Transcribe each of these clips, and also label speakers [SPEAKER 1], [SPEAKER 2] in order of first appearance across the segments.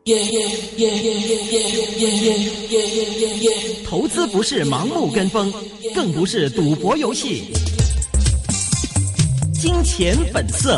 [SPEAKER 1] 投资不是盲目跟风，更不是赌博游戏。金钱本色。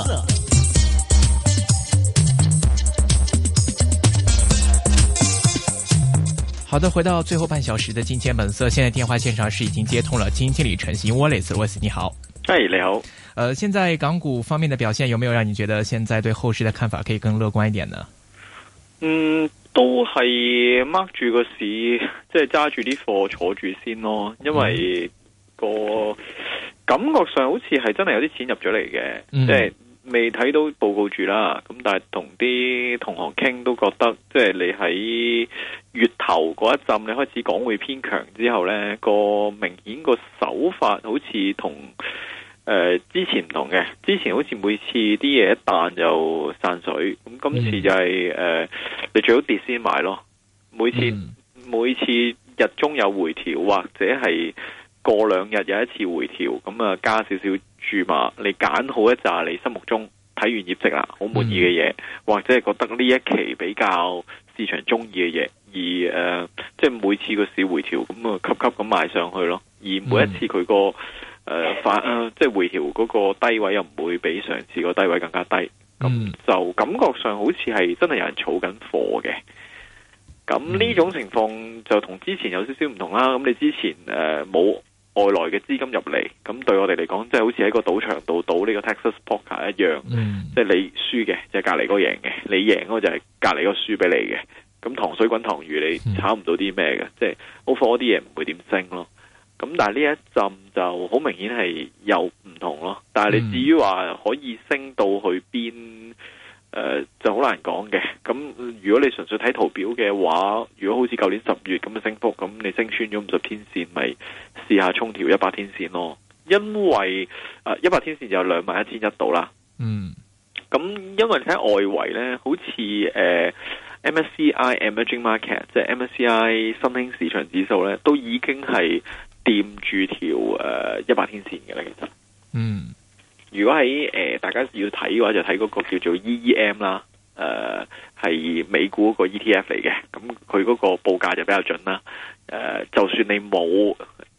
[SPEAKER 2] 好的，回到最后半小时的金钱本色，现在电话线上是已经接通了基金经理陈昕 Wallace， 你好。
[SPEAKER 3] 你好。
[SPEAKER 2] 现在港股方面的表现有没有让你覺得現在對後市的看法可以更樂觀一點呢？
[SPEAKER 3] 都係 mark 住個市，即係揸住啲貨坐住先咯，因為個感覺上好似係真係有啲錢入咗嚟嘅，即係未睇到報告住啦。咁但係同啲同學傾都覺得，即係你喺月頭嗰一陣你開始港匯偏強之後呢，個明顯個手法好似同之前唔同嘅。之前好似每次啲嘢一彈就散水，咁今次就係你最好跌先買咯。每次日中有回調，或者係過兩日有一次回調，咁啊加少少注碼，你揀好一紮你心目中睇完業績啦好滿意嘅嘢，或者係覺得呢一期比較市場中意嘅嘢，而即係每次個市回調咁啊級級咁賣上去咯。而每一次佢個即係回調嗰個低位又唔會比上次個低位更加低，咁就感覺上好似係真係有人儲緊貨嘅。咁呢種情況就同之前有少少唔同啦。咁你之前冇外來嘅資金入嚟，咁對我哋嚟講，即係好似喺個賭場度賭呢個 Texas Poker 一樣，即係你輸嘅就係隔離嗰個贏嘅，你贏嗰個就係隔離嗰個輸俾你嘅。咁糖水滾糖魚，你炒唔到啲咩嘅，即係 overall 啲嘢唔會點升咯。咁但係呢一陣就好明顯係有唔同咯。但係你至於話可以升到去邊，就好難講嘅。咁如果你純粹睇圖表嘅話，如果好似舊年10月咁嘅升幅，咁你升穿咗50天線，咪試下衝條100天線咯。因為100天線就有21,100度啦。咁因為你睇外圍呢，好似MSCI Emerging Market 即係 MSCI 新興市場指數呢，都已經係掂住條100天線嘅啦。其實如果喺大家要睇嘅話，就睇嗰個叫做 EEM 啦，係美股嗰個 ETF 嚟嘅。咁佢嗰個報價就比較準啦。就算你冇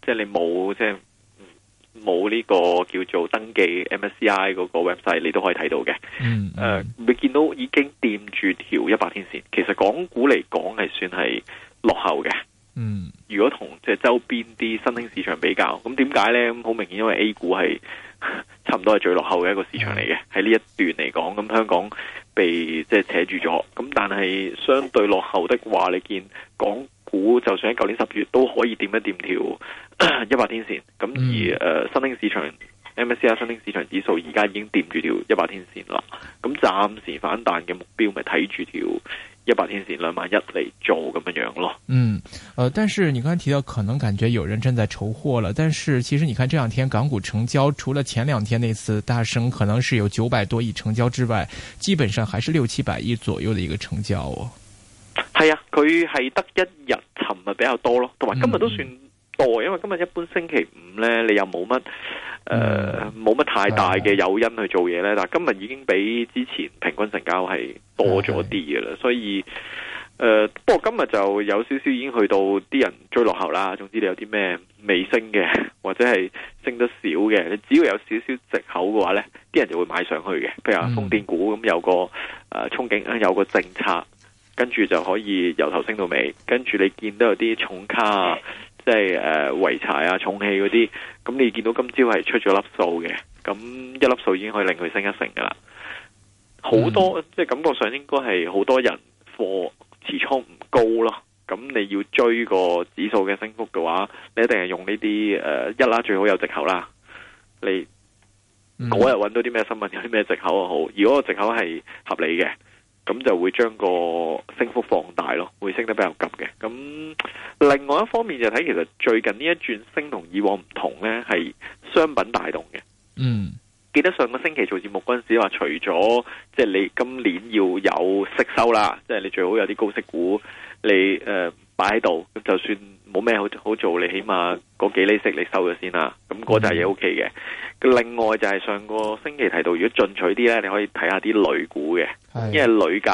[SPEAKER 3] 呢個叫做登記 MSCI 嗰個 website， 你都可以睇到嘅。你見到已經掂住條100天線，其實港股嚟講係算係落後嘅。如果同即係周邊啲新興市場比較，咁點解呢？咁好明顯，因為 A 股係差唔多係最落後嘅一個市場嚟嘅。喺呢一段嚟講，咁香港被即係扯住咗。咁但係相對落後的話，你見港股就算喺舊年10月都可以掂一掂條100天線。咁而新興市場 MSCI 新興市場指數而家已經掂住條100天線啦。咁暫時反彈嘅目標咪睇住條100天線21,000嚟做咁樣咯。
[SPEAKER 2] 但是你剛才提到可能感覺有人正在籌貨了，但是其實你看這兩天港股成交，除了前兩天那次大升可能是有900多億成交之外，基本上還是600-700億左右的一個成交哦。
[SPEAKER 3] 係啊，佢係得一日，尋日比較多咯，同埋今日都算多，因為今日一般星期五呢，你又冇乜太大嘅誘因去做嘢呢。但係今日已經比之前平均成交係多咗啲嘅啦，所以不過今日就有少少已經去到啲人追落後啦。總之你有啲咩未升嘅，或者係升得少嘅，你只要有少少藉口嘅話呢，啲人就會買上去嘅。譬如話風電股咁有個憧憬，有個政策，跟住就可以由頭升到尾。跟住你見到有啲重卡啊，即係濰柴啊、重汽嗰啲，咁你見到今朝係出咗粒數嘅，咁一粒數已經可以令佢升1成噶啦。好多即係感覺上應該係好多人貨持倉唔高咯。咁你要追個指數嘅升幅嘅話，你一定係用呢啲一啦，最好有藉口啦。你嗰日揾到啲咩新聞，有啲咩藉口就好。如果個藉口係合理嘅，咁就會將個升幅放大咯，會升得比較急嘅。咁另外一方面就睇，其實最近呢一轉升同以往唔同呢，係商品帶動嘅。記得上個星期做節目嗰陣時話，除咗即係你今年要有息收啦，即係你最好有啲高息股你擺喺度，咁就算冇咩好做，你起碼嗰幾厘息你收咗先啦。咁嗰扎嘢 OK嘅。另外就係上個星期提到，如果進取啲呢，你可以睇下啲鋁股嘅，因為鋁價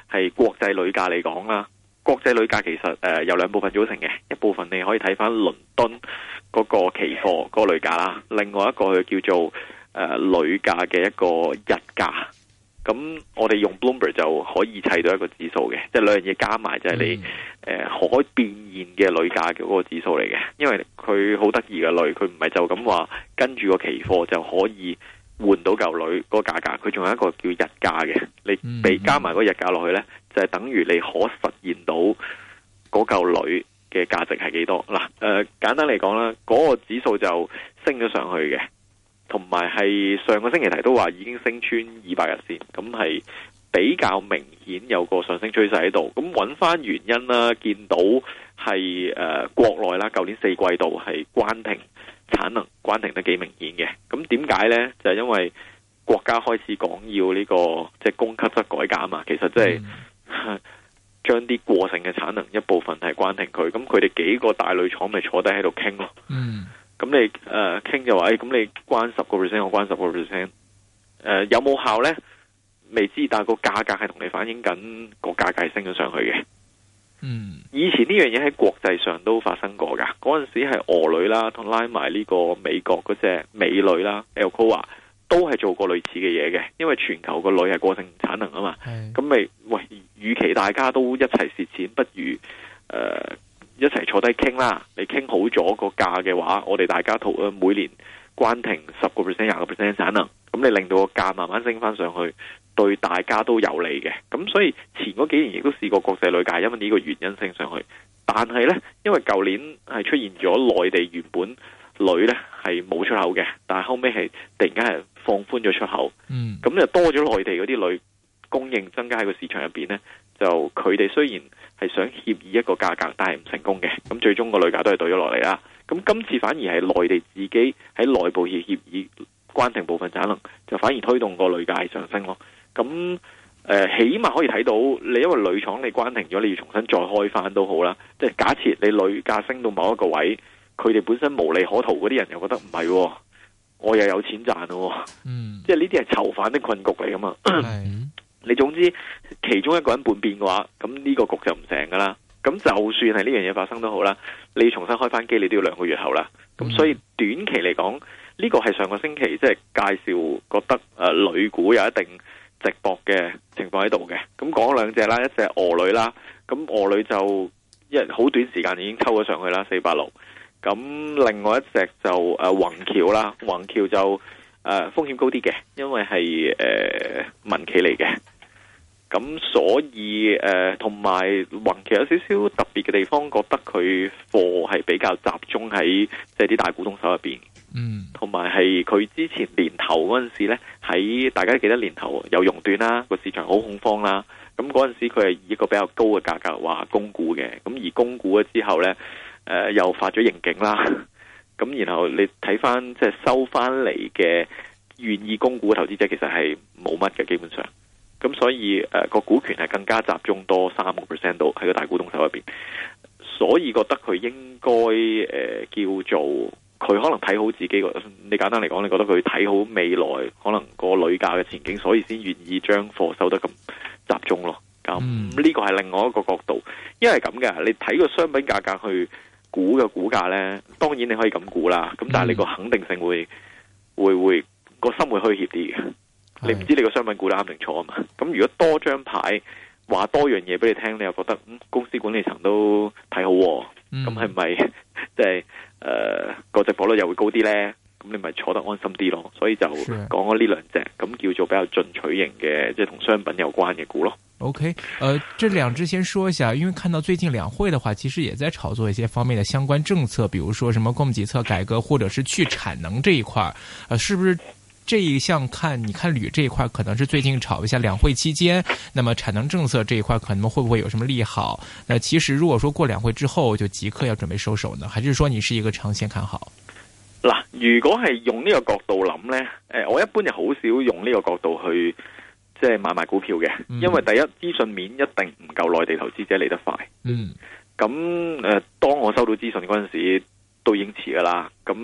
[SPEAKER 3] 係國際鋁價嚟講啦，國際鋁價其實由兩部分組成嘅，一部分你可以睇翻倫敦嗰個期貨嗰個鋁價啦，另外一個佢叫做鋁價嘅一個日價。咁我哋用 Bloomberg 就可以砌到一個指數嘅，即係兩樣嘢加埋就係你可變現嘅鋁價嘅嗰個指數嚟嘅。因為佢好得意嘅鋁，佢唔係就咁話跟住個期貨就可以換到嚿鋁嗰個價格，佢仲有一個叫日價嘅。你俾加埋嗰日價落去呢，就係等於你可實現到嗰嚿鋁嘅價值係幾多。嗱，簡單嚟講啦，嗰個指數就升咗上去嘅。同埋係上個星期提都話已經升穿200日線，咁係比較明顯有個上升趨勢喺度。咁揾翻原因啦，見到係國內啦，舊年4季度係關停產能，關停得幾明顯嘅。咁點解呢？就係因為國家開始講要呢個即係供給側改革啊嘛。其實即係將啲過剩嘅產能一部分係關停佢，咁佢哋幾個大鋁廠咪坐低喺度傾咯。咁你傾就話，咁你關10%，我關10%，有冇效呢？未知，但係個價格係同你反映緊個價格係升咗上去嘅。以前呢樣嘢喺國際上都發生過噶，嗰陣時係俄鋁啦，同拉埋呢個美國嗰隻美鋁啦 Alcoa 都係做過類似嘅嘢嘅，因為全球個鋁係過剩產能啊嘛。咁咪喂，與其大家都一齊蝕錢，不如一齊坐低傾啦，你傾好咗個價嘅話，我哋大家每年關停10%、20% 產能，咁你令到個價慢慢升翻上去，對大家都有利嘅。咁所以前嗰幾年亦都試過國際鋁價因為呢個原因升上去，但係呢，因為舊年係出現咗內地原本鋁呢係冇出口嘅，但係後尾係突然間係放寬咗出口，咁就多咗內地嗰啲鋁供應增加喺個市場入邊呢，就佢哋雖然係想協議一個價格，但係唔成功嘅。咁最終個鋁價都係對咗落嚟啦。咁今次反而係內地自己喺內部協議關停部分產能，就反而推動個鋁價係上升咯。咁起碼可以睇到，你因為鋁廠你關停咗，你要重新再開翻都好啦。即係假設你鋁價升到某一個位，佢哋本身無利可圖嗰啲人又覺得唔係，我又有錢賺咯。即係呢啲係囚犯的困局嚟噶嘛。你總之其中一個人叛變嘅話，咁呢個局就唔成噶啦。咁就算係呢樣嘢發生都好啦，你要重新開翻機，你都要2個月後啦。咁所以短期嚟講，呢個係上個星期即係介紹覺得鋁股有一定值博嘅情況喺度嘅。咁講兩隻啦，一隻俄鋁啦，咁俄鋁就好短時間已經抽咗上去啦，460。咁另外一隻就宏橋啦，宏橋就風險高啲嘅，因為係民企嚟嘅。咁所以同埋宏橋有少少特別嘅地方，覺得佢貨係比較集中喺即係啲大股東手入邊。同埋係佢之前年頭嗰陣時呢，喺大家記得年頭有熔斷啦，個市場好恐慌啦。咁嗰陣時佢係以一個比較高嘅價格話供股嘅，咁而供股咗之後呢，又發咗盈警啦。咁然後你睇翻即係收翻嚟嘅願意供股嘅投資者，其實係冇乜嘅基本上。咁所以個股權係更加集中多3% 度喺個大股東手入邊，所以覺得佢應該叫做佢可能睇好自己個。你簡單嚟講，你覺得佢睇好未來可能個鋁價嘅前景，所以先願意將貨收得咁集中咯。咁呢個係另外一個角度，因為咁嘅，你睇個商品價格去估嘅股價呢，當然你可以咁估啦。咁但係你個肯定性會個心會虛怯啲嘅。你唔知你個商品估得啱定錯啊嘛？咁如果多張牌話多樣嘢俾你聽，你又覺得公司管理層都睇好，咁係咪即係個值博率又會高啲呢？咁你咪坐得安心啲咯。所以就講咗呢兩隻，咁叫做比較進取型嘅，即係同商品有關嘅股咯。
[SPEAKER 2] OK，這兩隻先說一下，因為看到最近兩會的話，其實也在炒作一些方面的相關政策，比如說什麼供給側改革，或者是去產能這一塊，是不是？這一項你看鋁這一塊可能是最近炒一下兩會期間，那麼產能政策這一塊可能會不會有什麼利好？那其實如果說過兩會之後就即刻要準備收手呢，還是說你是一個長線看好？
[SPEAKER 3] 嗱，如果係用呢個角度諗呢，我一般就好少用呢個角度去即係買賣股票嘅，因為第一資訊面一定唔夠內地投資者嚟得快。咁當我收到資訊嗰陣時都已經遲噶啦，咁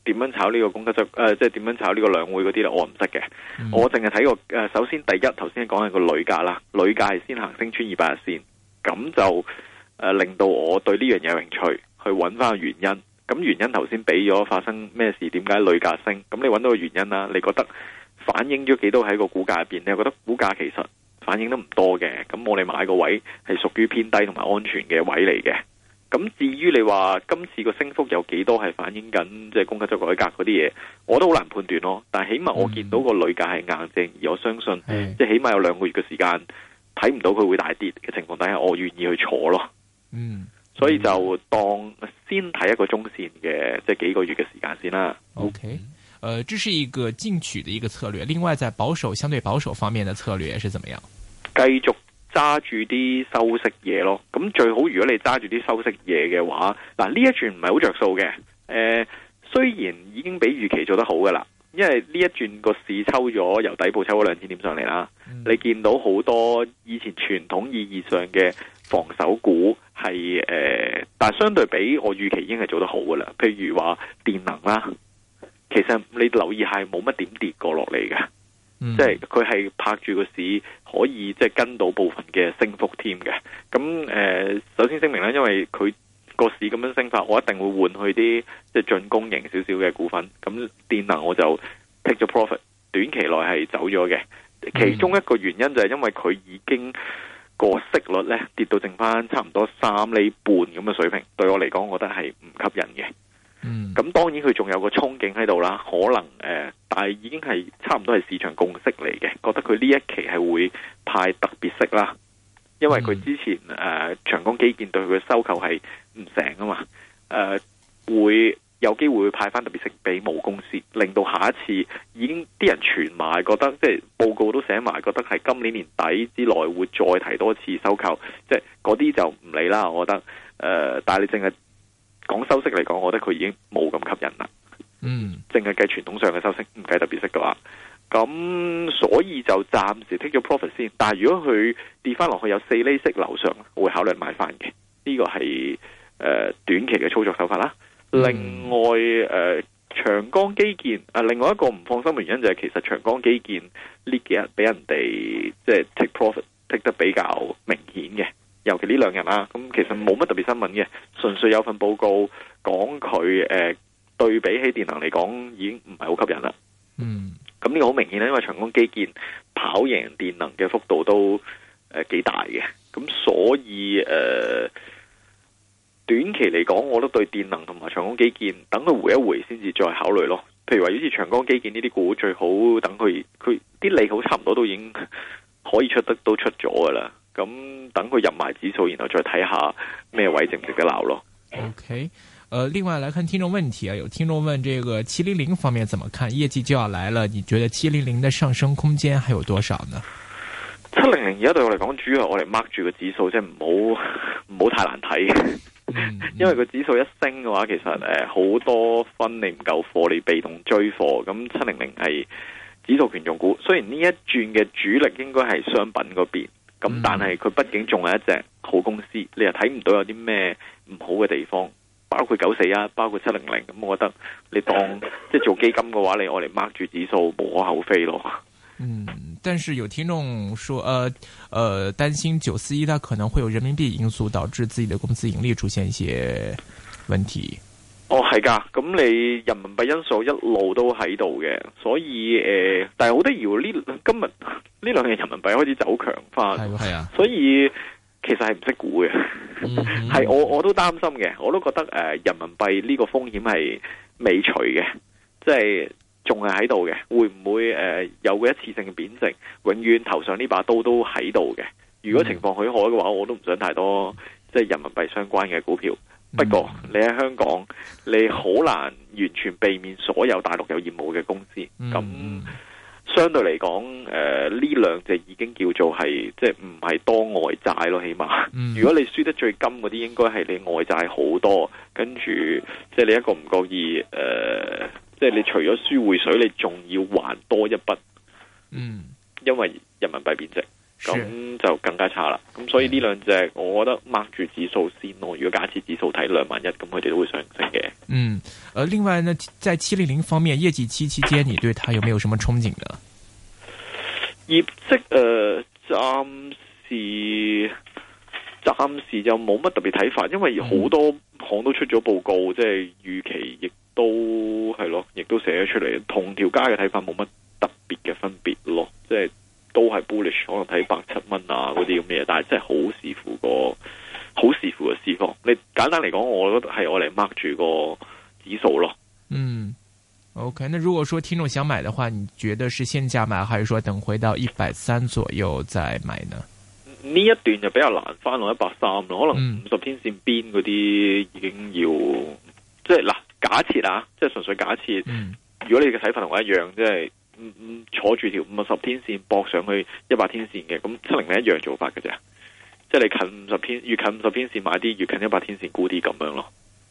[SPEAKER 3] 點樣炒呢個供給側即係點樣炒呢個兩會嗰啲咧，我唔識嘅。我淨係睇過首先第一頭先講係個鋁價啦，鋁價係先行升穿200日線，咁就令到我對呢樣嘢有興趣，去揾翻個原因。咁原因頭先俾咗發生咩事，點解鋁價升？咁你揾到個原因啦，你覺得反映咗幾多喺個股價入邊？你又覺得股價其實反映得唔多嘅？咁我哋買個位係屬於偏低同埋安全嘅位嚟嘅。咁至於你話今次個升幅有幾多係反映緊即係供給側改革嗰啲嘢，我都好難判斷咯。但係起碼我見到個鋁價係硬淨，而我相信即係起碼有2個月嘅時間睇唔到佢會大跌嘅情況底下，我願意去坐咯。所以就當先睇一個中線嘅即係幾個月嘅時間先啦。
[SPEAKER 2] OK，這是一個進取的一個策略。另外，在相對保守方面的策略是怎麼樣？繼續
[SPEAKER 3] 揸住啲收息嘢咯，咁最好如果你揸住啲收息嘢嘅話，嗱呢一轉唔係好着數嘅。雖然已經比預期做得好噶啦，因為呢一轉個市抽咗由底部抽咗2000點上嚟啦。你見到好多以前傳統意義上嘅防守股係但係相對比我預期已經係做得好噶啦。譬如話電能啦，其實你留意係冇乜點跌過落嚟嘅。即係佢係拍住個市可以即係跟到部分嘅升幅添嘅。咁首先聲明啦，因為佢個市咁樣升法，我一定會換去啲即係進攻型少少嘅股份。咁電能我就 take 咗 profit， 短期內係走咗嘅。其中一個原因就係因為佢已經個息率咧跌到剩翻差唔多3厘半咁嘅水平，對我嚟講，我覺得係唔吸引嘅。咁當然佢仲有個憧憬喺度啦，可能但係已經係差唔多係市場共識嚟嘅，覺得佢呢一期係會派特別息啦，因為佢之前長江基建對佢嘅收購係唔成啊嘛，會有機會派翻特別息俾母公司，令到下一次已經啲人傳埋，覺得即係報告都寫埋，覺得係今年年底之內會再提多次收購，即係嗰啲就唔理啦。我覺得但係你淨係講收息嚟講，我覺得佢已經冇咁吸引啦。淨係計傳統上嘅收息，唔計特別息嘅話，咁所以就暫時 take 咗 profit 先。但係如果佢跌翻落去有4厘息樓上，我會考慮買翻嘅。呢個係短期嘅操作手法啦。另外長江基建另外一個唔放心嘅原因就係其實長江基建呢幾日俾人哋即係 take profit take 得比較明顯嘅。尤其呢2日啦，咁其實冇乜特別新聞嘅，純粹有份報告講佢對比起電能嚟講已經唔係好吸引啦。咁呢個好明顯啦，因為長江基建跑贏電能嘅幅度都幾大嘅，咁所以短期嚟講，我都對電能同埋長江基建等佢回一回先至再考慮咯。譬如話好似長江基建呢啲股，最好等佢啲利好差唔多都已經可以都出咗噶啦。咁等佢入埋指數，然後再睇下咩位值唔值得鬧咯。
[SPEAKER 2] OK，另外來看聽眾問題啊，有聽眾問這個700方面怎麼看？業績就要來了，你覺得700的上升空間還有多少呢
[SPEAKER 3] ？700而家對我嚟講，主要係我哋 mark 住個指數，即係唔好太難睇。因為個指數一升嘅話，其實好多分你唔夠貨，你被動追貨。咁700係指數權重股，雖然呢一轉嘅主力應該係商品嗰邊。咁但係佢畢竟仲係一隻好公司，你又睇唔到有啲咩唔好嘅地方，包括941，包括700。咁我覺得你當即係做基金嘅話，你我哋 mark 住指數無可厚非咯。
[SPEAKER 2] 但是有聽眾說，擔心941它可能會有人民幣因素導致自己的公司盈利出現一些問題。
[SPEAKER 3] 係噶，咁你人民幣因素一路都喺度嘅，所以但係好得意喎，今日呢2日人民幣開始走強翻，係啊，所以其實係唔識估嘅，係我都擔心嘅，我都覺得人民幣呢個風險係未除嘅，即係仲係喺度嘅，會唔會有個一次性嘅貶值，永遠頭上呢把刀都喺度嘅？如果情況許可嘅話，我都唔想太多即係人民幣相關嘅股票。不過你喺香港，你好難完全避免所有大陸有業務嘅公司。咁相對嚟講，呢2隻已經叫做係即係唔係多外債咯，起碼。如果你輸得最金嗰啲，應該係你外債好多，跟住即係你一個唔覺意，即係你除咗輸匯水，你仲要還多一筆。因為人民幣貶值。 咁就更加差啦。咁所以呢兩隻我覺得 mark 住指數先咯。如果假設指數睇21,000，咁佢哋都會上升嘅。
[SPEAKER 2] 另外呢，在700方面，業績期間，你對它有沒有什麼憧憬呢？
[SPEAKER 3] 業績暫時就冇乜特別睇法，因為好多行都出咗報告，即係預期亦都係咯，亦都寫咗出嚟，同條街嘅睇法冇乜特別嘅分別咯，即係都係 bullish， 可能睇107蚊啊嗰啲咁嘅嘢，但係真係好視乎個市況。你簡單嚟講，我覺得係我嚟 mark 住個指數咯。
[SPEAKER 2] OK， 那如果說聽眾想買的話，你覺得是現價買，還是說等回到130左右再買呢？
[SPEAKER 3] 呢一段就比較難翻落130咯，可能50天線邊嗰啲已經要，即係嗱，假設啊，即係純粹假設，如果你嘅睇法同我一樣，即係坐住條50天線搏上去100天線嘅，咁700一樣做法嘅啫，即係你近50天，越近50天線買啲，越近100天線沽啲咁樣咯。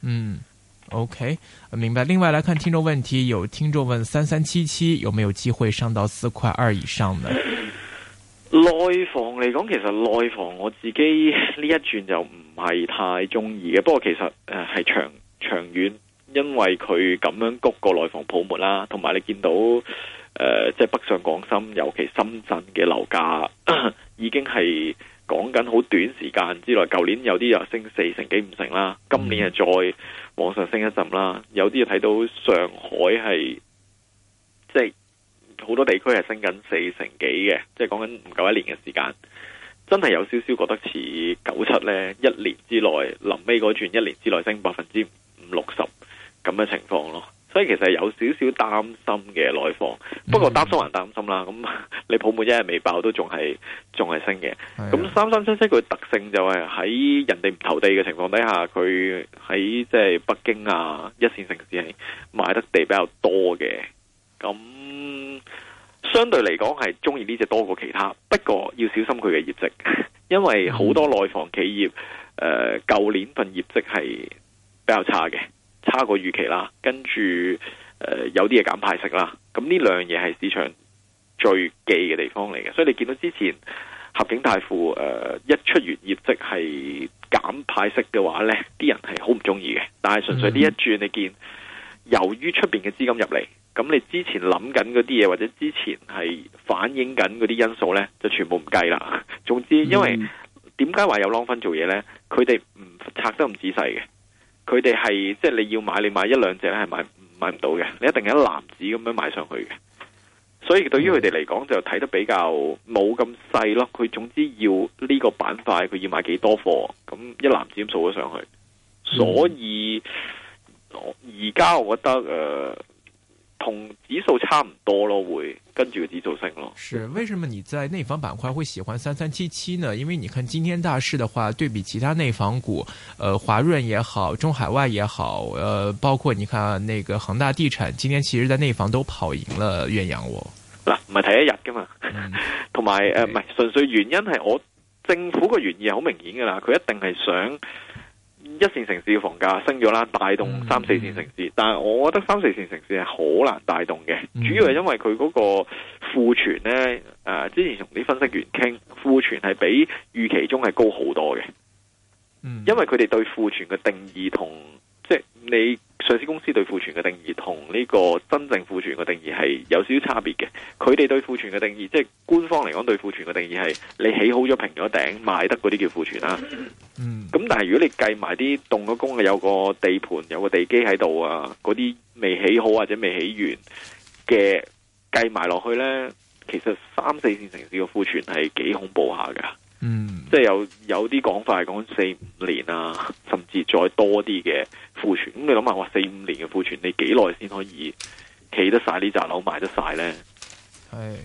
[SPEAKER 2] OK， 明白。另外來看聽眾問題，有聽眾問3377有沒有機會上到4塊2以上呢？
[SPEAKER 3] 內房嚟講，其實內房我自己呢一轉就唔係太中意嘅，不過其實係長遠，因為佢咁樣谷個內房泡沫啦，同埋你見到即係北上廣深，尤其深圳嘅樓價已經係講緊好短時間之內，舊年有啲又升4成幾5成啦，今年係再往上升一陣啦，有啲又睇到上海係即係好多地區係升緊4成幾嘅，即係講緊唔夠1年嘅時間，真係有少少覺得似97呢，一年之內臨尾嗰轉，1年之內升50%-60%咁嘅情況咯。所以其實有少少擔心嘅內房，不過擔心還擔心啦。咁你泡沫一日未爆都仲係升嘅。咁3377佢特性就係喺人哋唔投地嘅情況底下，佢喺即係北京啊一線城市係買得地比較多嘅。咁相對嚟講係中意呢隻多過其他，不過要小心佢嘅業績，因為好多內房企業舊年份業績係比較差嘅。差過預期啦，跟住有啲嘢減派息啦，咁呢兩樣嘢係市場最忌嘅地方嚟嘅，所以你見到之前合景泰富一出完業績係減派息嘅話呢，啲人係好唔中意嘅。但係純粹呢一轉，你見由於出邊嘅資金入嚟，咁你之前諗緊嗰啲嘢或者之前係反映緊嗰啲因素呢，就全部唔計啦。總之，因為點解話有 long 分做嘢呢？佢哋唔拆得咁仔細嘅。佢哋係即係你要買，你買一兩隻咧係買唔到嘅，你一定係一籃子咁樣買上去嘅。所以對於佢哋嚟講就睇得比較冇咁細咯。佢總之要呢個板塊，佢要買幾多貨，咁一籃子咁掃咗上去。所以而家我覺得同指數差唔多咯，會跟住個指數升咯。
[SPEAKER 2] 是，為什麼你在內房板塊會喜歡3377呢？因為你看今天大市的話，對比其他內房股，華潤也好，中海外也好，包括你看那個恒大地產，今天其實在內房都跑贏了遠洋喎。
[SPEAKER 3] 嗱，唔係睇一日噶嘛，同埋唔係純粹原因係我政府個原意係好明顯噶啦，佢一定係想一線城市嘅房價升咗啦，帶動3、4線城市。但係我覺得3、4線城市係好難帶動嘅，主要係因為佢嗰個庫存呢，之前同啲分析員傾，庫存係比預期中係高好多嘅。因為佢哋對庫存嘅定義同即係你上市公司對庫存嘅定義同呢個真正庫存嘅定義係有少少差別嘅。佢哋對庫存嘅定義，即係官方嚟講對庫存嘅定義係你起好咗平咗頂賣得嗰啲叫庫存啦。咁但係如果你計埋啲動咗工嘅，有個地盤有個地基喺度啊，嗰啲未起好或者未起完嘅計埋落去呢，其實3、4線城市嘅庫存係幾恐怖下噶。即係有啲講法係講4、5年啊，甚至再多啲嘅庫存。咁你諗下，話4、5年嘅庫存，你幾耐先可以起得晒呢紮樓賣得晒呢？
[SPEAKER 2] 係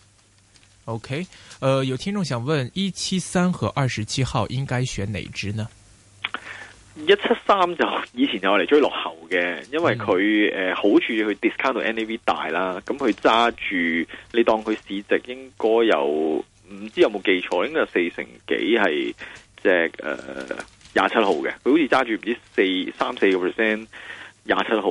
[SPEAKER 2] OK，有聽眾想問173和27號應該選哪支呢
[SPEAKER 3] ？173就以前有嚟追落後嘅，因為佢好處佢 discount 到 NAV 大啦，咁佢揸住你當佢市值應該有。唔知有冇記錯，應該有4成幾係隻27號嘅，佢好似揸住唔知3、4%27號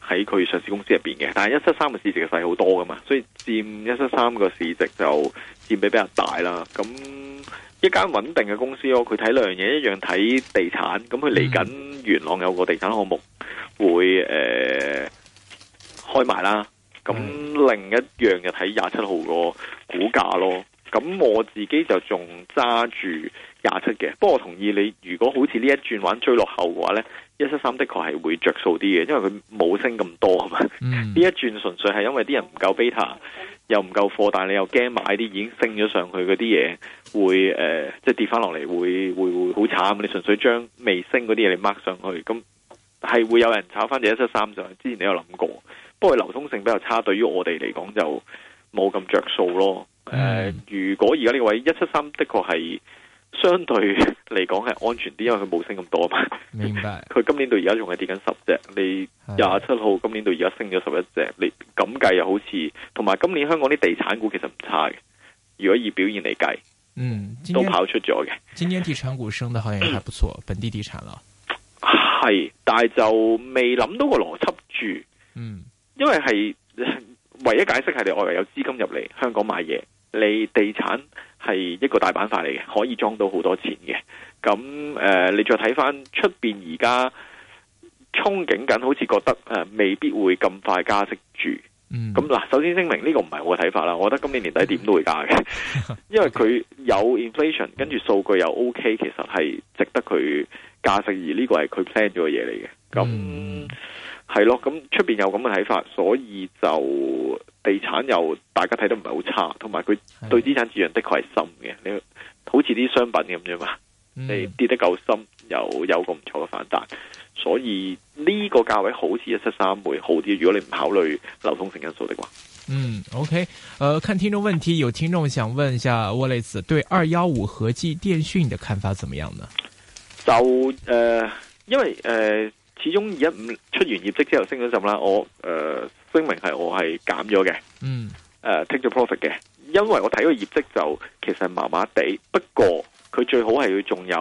[SPEAKER 3] 喺佢上市公司入邊嘅，但係173嘅市值係細好多噶嘛，所以佔173個市值就佔比比較大啦。咁一間穩定嘅公司咯，佢睇兩樣嘢，一樣睇地產，咁佢嚟緊元朗有個地產項目會開埋啦。咁另一樣就睇27號個股價咯。咁我自己就仲揸住27嘅，不過我同意你，如果好似呢一轉玩追落後嘅話呢，173的確係會着數啲嘅，因為佢冇升咁多啊嘛。呢一轉純粹係因為啲人唔夠 beta，又唔夠貨，但係你又驚買啲已經升咗上去嗰啲嘢會即係跌翻落嚟會好慘。你純粹將未升嗰啲嘢你 mark 上去，咁係會有人炒翻隻173上去。之前你有諗過，不過流通性比較差，對於我哋嚟講就冇咁着數咯。如果而家呢個位173的確係相對嚟講係安全啲，因為佢冇升咁多嘛。
[SPEAKER 2] 明白。佢
[SPEAKER 3] 今年到而家仲係跌緊10隻，你27號今年到而家升咗11隻，你咁計又好似，同埋今年香港啲地產股其實唔差嘅，如果以表現嚟計，都跑出咗嘅。
[SPEAKER 2] 今年地產股升得好像也還不錯，本地地產啦。
[SPEAKER 3] 係，但係就未諗到個邏輯住。因為係唯一解釋係你外圍有資金入嚟香港買嘢。你地產係一個大板塊嚟嘅，可以裝到好多錢嘅。咁你再睇翻出邊而家憧憬緊，好似覺得未必會咁快加息住。咁嗱，首先聲明呢個唔係我嘅睇法啦。我覺得今年年底點都會加嘅，因為佢有 inflation， 跟住數據又 OK，其實係值得佢加息，而呢個係佢 plan 咗嘅嘢嚟嘅。咁係咯，咁出邊有咁嘅睇法，所以就地產又大家睇得唔係好差，同埋佢對資產質量的確係深嘅。你好似啲商品咁啫嘛，你跌得夠深，又有個唔錯嘅反彈，所以呢個價位好似173會好啲。如果你唔考慮流通性因素的話
[SPEAKER 2] ，OK，看聽眾問題，有聽眾想問一下 Wallace 對215和記電訊的看法怎麼樣呢？
[SPEAKER 3] 就因為始終215出完業績之後升咗陣啦，我聲明係我係減咗嘅，take 咗 profit 嘅，因為我睇個業績就其實係麻麻地，不過佢最好係要仲有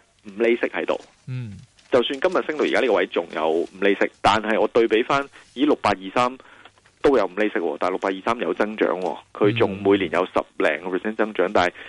[SPEAKER 3] 5厘息喺度，就算今日升到而家呢個位仲有5厘息，但係我對比翻以6823都有5厘息，但係6823有增長，佢仲每年有10零個 percent 增長，但係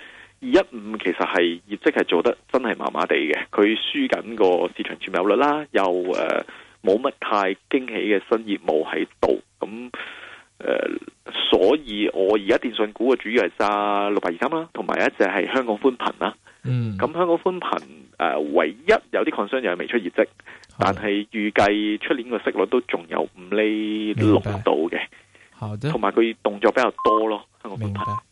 [SPEAKER 3] 215其實係業績係做得真係麻麻地嘅，佢輸緊個市場佔有率啦，又冇乜太驚喜嘅新業務喺度，咁所以我而家電信股嘅主要係揸6823啦，同埋一隻係香港寬頻啦。咁香港寬頻唯一有啲 concern 又係未出業績，但係預計出年個息率都仲有5厘6度嘅，同埋佢動作比較多咯，香港寬頻。